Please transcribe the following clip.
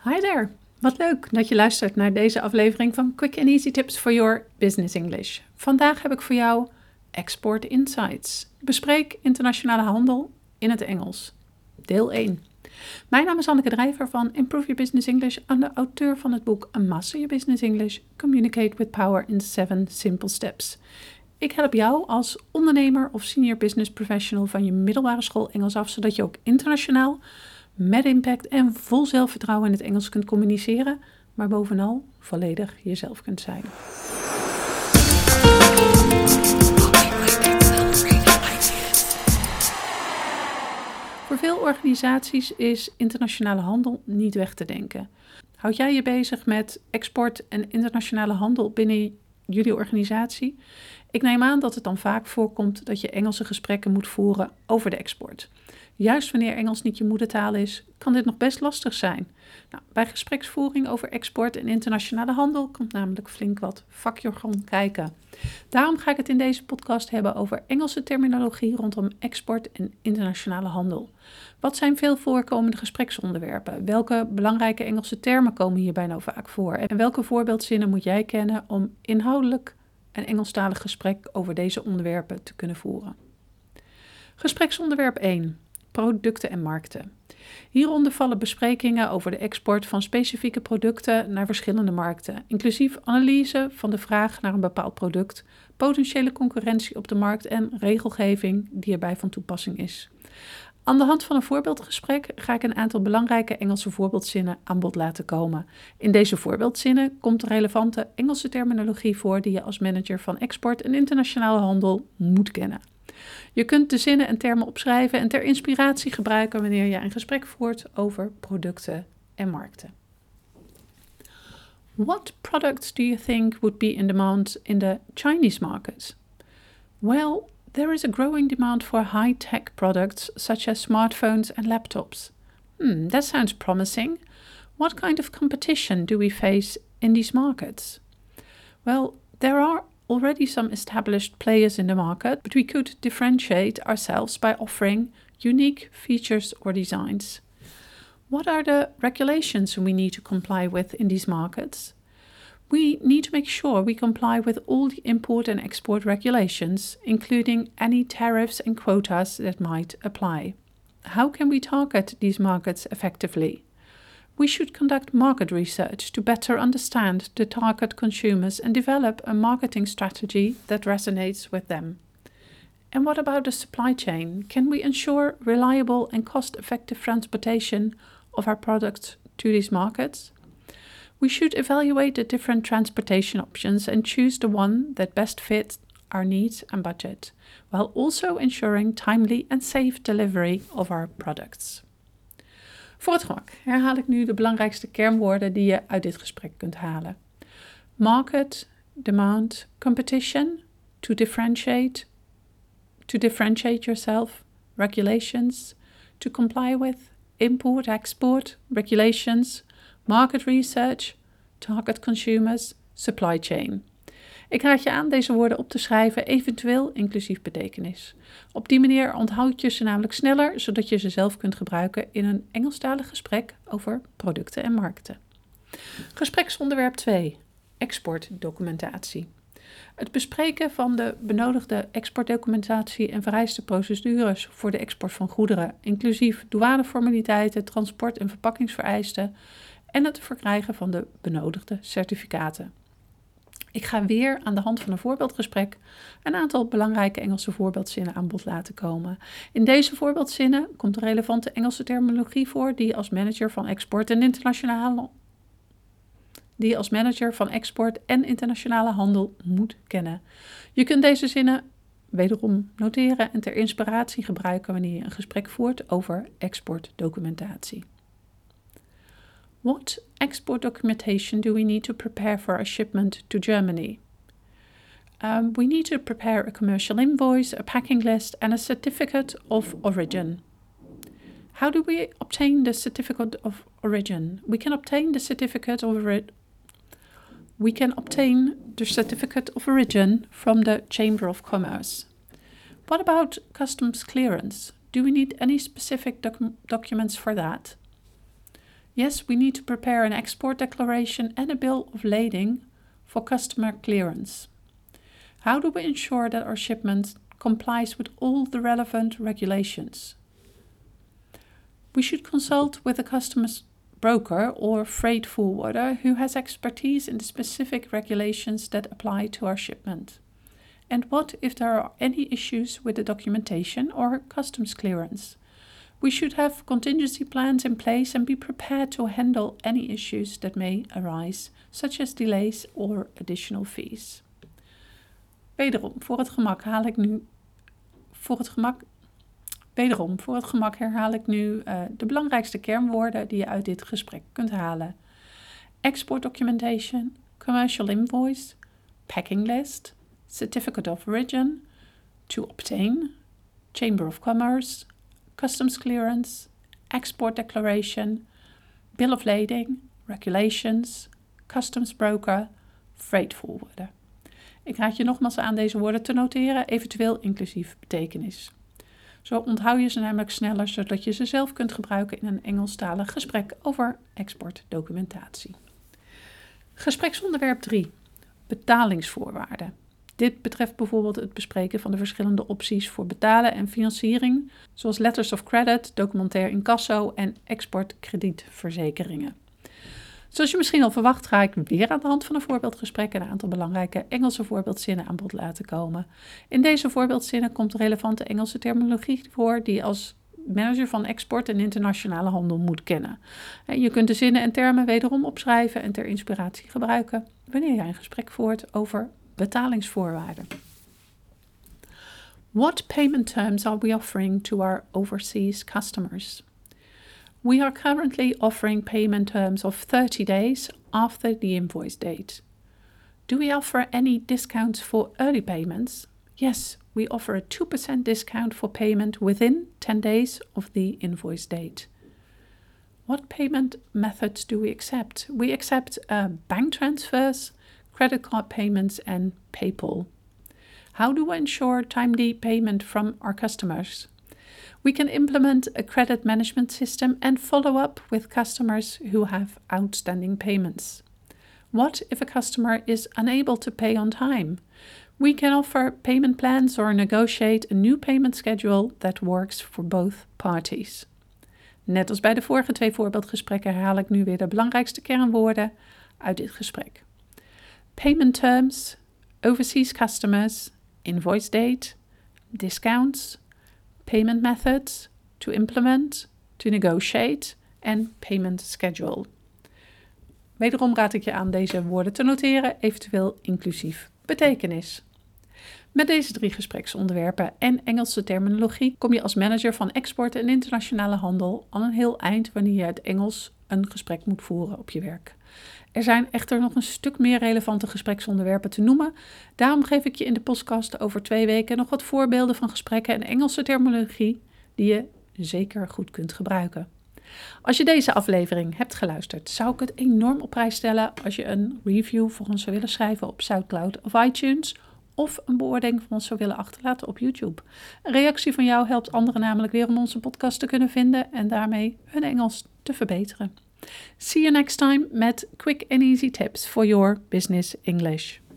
Hi there! Wat leuk dat je luistert naar deze aflevering van Quick and Easy Tips for Your Business English. Vandaag heb ik voor jou Export Insights. Bespreek internationale handel in het Engels. Deel 1. Mijn naam is Anneke Drijver van Improve Your Business English en de auteur van het boek Master Your Business English, Communicate with Power in 7 Simple Steps. Ik help jou als ondernemer of senior business professional van je middelbare school Engels af, zodat je ook internationaal met impact en vol zelfvertrouwen in het Engels kunt communiceren, maar bovenal volledig jezelf kunt zijn. Voor veel organisaties is internationale handel niet weg te denken. Houd jij je bezig met export en internationale handel binnen jullie organisatie? Ik neem aan dat het dan vaak voorkomt dat je Engelse gesprekken moet voeren over de export. Juist wanneer Engels niet je moedertaal is, kan dit nog best lastig zijn. Bij gespreksvoering over export en internationale handel komt namelijk flink wat vakjargon kijken. Daarom ga ik het in deze podcast hebben over Engelse terminologie rondom export en internationale handel. Wat zijn veel voorkomende gespreksonderwerpen? Welke belangrijke Engelse termen komen hierbij nou vaak voor? En welke voorbeeldzinnen moet jij kennen om inhoudelijk een Engelstalig gesprek over deze onderwerpen te kunnen voeren? Gespreksonderwerp 1. Producten en markten. Hieronder vallen besprekingen over de export van specifieke producten naar verschillende markten, inclusief analyse van de vraag naar een bepaald product, potentiële concurrentie op de markt en regelgeving die erbij van toepassing is. Aan de hand van een voorbeeldgesprek ga ik een aantal belangrijke Engelse voorbeeldzinnen aan bod laten komen. In deze voorbeeldzinnen komt relevante Engelse terminologie voor die je als manager van export en internationale handel moet kennen. Je kunt de zinnen en termen opschrijven en ter inspiratie gebruiken wanneer je een gesprek voert over producten en markten. What products do you think would be in demand in the Chinese market? Well, there is a growing demand for high-tech products such as smartphones and laptops. That sounds promising. What kind of competition do we face in these markets? Well, there are already some established players in the market, but we could differentiate ourselves by offering unique features or designs. What are the regulations we need to comply with in these markets? We need to make sure we comply with all the import and export regulations, including any tariffs and quotas that might apply. How can we target these markets effectively? We should conduct market research to better understand the target consumers and develop a marketing strategy that resonates with them. And what about the supply chain? Can we ensure reliable and cost-effective transportation of our products to these markets? We should evaluate the different transportation options and choose the one that best fits our needs and budget, while also ensuring timely and safe delivery of our products. Voor het gemak herhaal ik nu de belangrijkste kernwoorden die je uit dit gesprek kunt halen. Market, demand, competition, to differentiate yourself, regulations, to comply with, import, export, regulations, market research, target consumers, supply chain. Ik raad je aan deze woorden op te schrijven, eventueel inclusief betekenis. Op die manier onthoud je ze namelijk sneller, zodat je ze zelf kunt gebruiken in een Engelstalig gesprek over producten en markten. Gespreksonderwerp 2. Exportdocumentatie. Het bespreken van de benodigde exportdocumentatie en vereiste procedures voor de export van goederen, inclusief douaneformaliteiten, transport- en verpakkingsvereisten en het verkrijgen van de benodigde certificaten. Ik ga weer aan de hand van een voorbeeldgesprek een aantal belangrijke Engelse voorbeeldzinnen aan bod laten komen. In deze voorbeeldzinnen komt de relevante Engelse terminologie voor die je als manager van export en internationale handel moet kennen. Je kunt deze zinnen wederom noteren en ter inspiratie gebruiken wanneer je een gesprek voert over exportdocumentatie. What export documentation do we need to prepare for our shipment to Germany? We need to prepare a commercial invoice, a packing list, and a certificate of origin. How do we obtain the certificate of origin? We can obtain the certificate of origin from the Chamber of Commerce. What about customs clearance? Do we need any specific documents for that? Yes, we need to prepare an export declaration and a bill of lading for customer clearance. How do we ensure that our shipment complies with all the relevant regulations? We should consult with a customs broker or freight forwarder who has expertise in the specific regulations that apply to our shipment. And what if there are any issues with the documentation or customs clearance? We should have contingency plans in place and be prepared to handle any issues that may arise, such as delays or additional fees. Wederom, voor het gemak herhaal ik nu de belangrijkste kernwoorden die je uit dit gesprek kunt halen. Export documentation, commercial invoice, packing list, certificate of origin, to obtain, Chamber of Commerce, customs clearance, export declaration, bill of lading, regulations, customs broker, freight forwarder. Ik raad je nogmaals aan deze woorden te noteren, eventueel inclusief betekenis. Zo onthoud je ze namelijk sneller, zodat je ze zelf kunt gebruiken in een Engelstalig gesprek over exportdocumentatie. Gespreksonderwerp 3. Betalingsvoorwaarden. Dit betreft bijvoorbeeld het bespreken van de verschillende opties voor betalen en financiering, zoals letters of credit, documentair incasso en exportkredietverzekeringen. Zoals je misschien al verwacht, ga ik weer aan de hand van een voorbeeldgesprek een aantal belangrijke Engelse voorbeeldzinnen aan bod laten komen. In deze voorbeeldzinnen komt relevante Engelse terminologie voor die je als manager van export en internationale handel moet kennen. Je kunt de zinnen en termen wederom opschrijven en ter inspiratie gebruiken wanneer jij een gesprek voert over betalingsvoorwaarden. What payment terms are we offering to our overseas customers? We are currently offering payment terms of 30 days after the invoice date. Do we offer any discounts for early payments? Yes, we offer a 2% discount for payment within 10 days of the invoice date. What payment methods do we accept? We accept bank transfers, credit card payments, and PayPal. How do we ensure timely payment from our customers? We can implement a credit management system and follow up with customers who have outstanding payments. What if a customer is unable to pay on time? We can offer payment plans or negotiate a new payment schedule that works for both parties. Net als bij de vorige 2 voorbeeldgesprekken herhaal ik nu weer de belangrijkste kernwoorden uit dit gesprek. Payment terms, overseas customers, invoice date, discounts, payment methods, to implement, to negotiate en payment schedule. Wederom raad ik je aan deze woorden te noteren, eventueel inclusief betekenis. Met deze 3 gespreksonderwerpen en Engelse terminologie kom je als manager van export en internationale handel al een heel eind wanneer je uit Engels een gesprek moet voeren op je werk. Er zijn echter nog een stuk meer relevante gespreksonderwerpen te noemen. Daarom geef ik je in de podcast over 2 weken nog wat voorbeelden van gesprekken en Engelse terminologie die je zeker goed kunt gebruiken. Als je deze aflevering hebt geluisterd, zou ik het enorm op prijs stellen als je een review voor ons zou willen schrijven op SoundCloud of iTunes of een beoordeling van ons zou willen achterlaten op YouTube. Een reactie van jou helpt anderen namelijk weer om onze podcast te kunnen vinden en daarmee hun Engels te verbeteren. See you next time met quick and easy tips for your business English.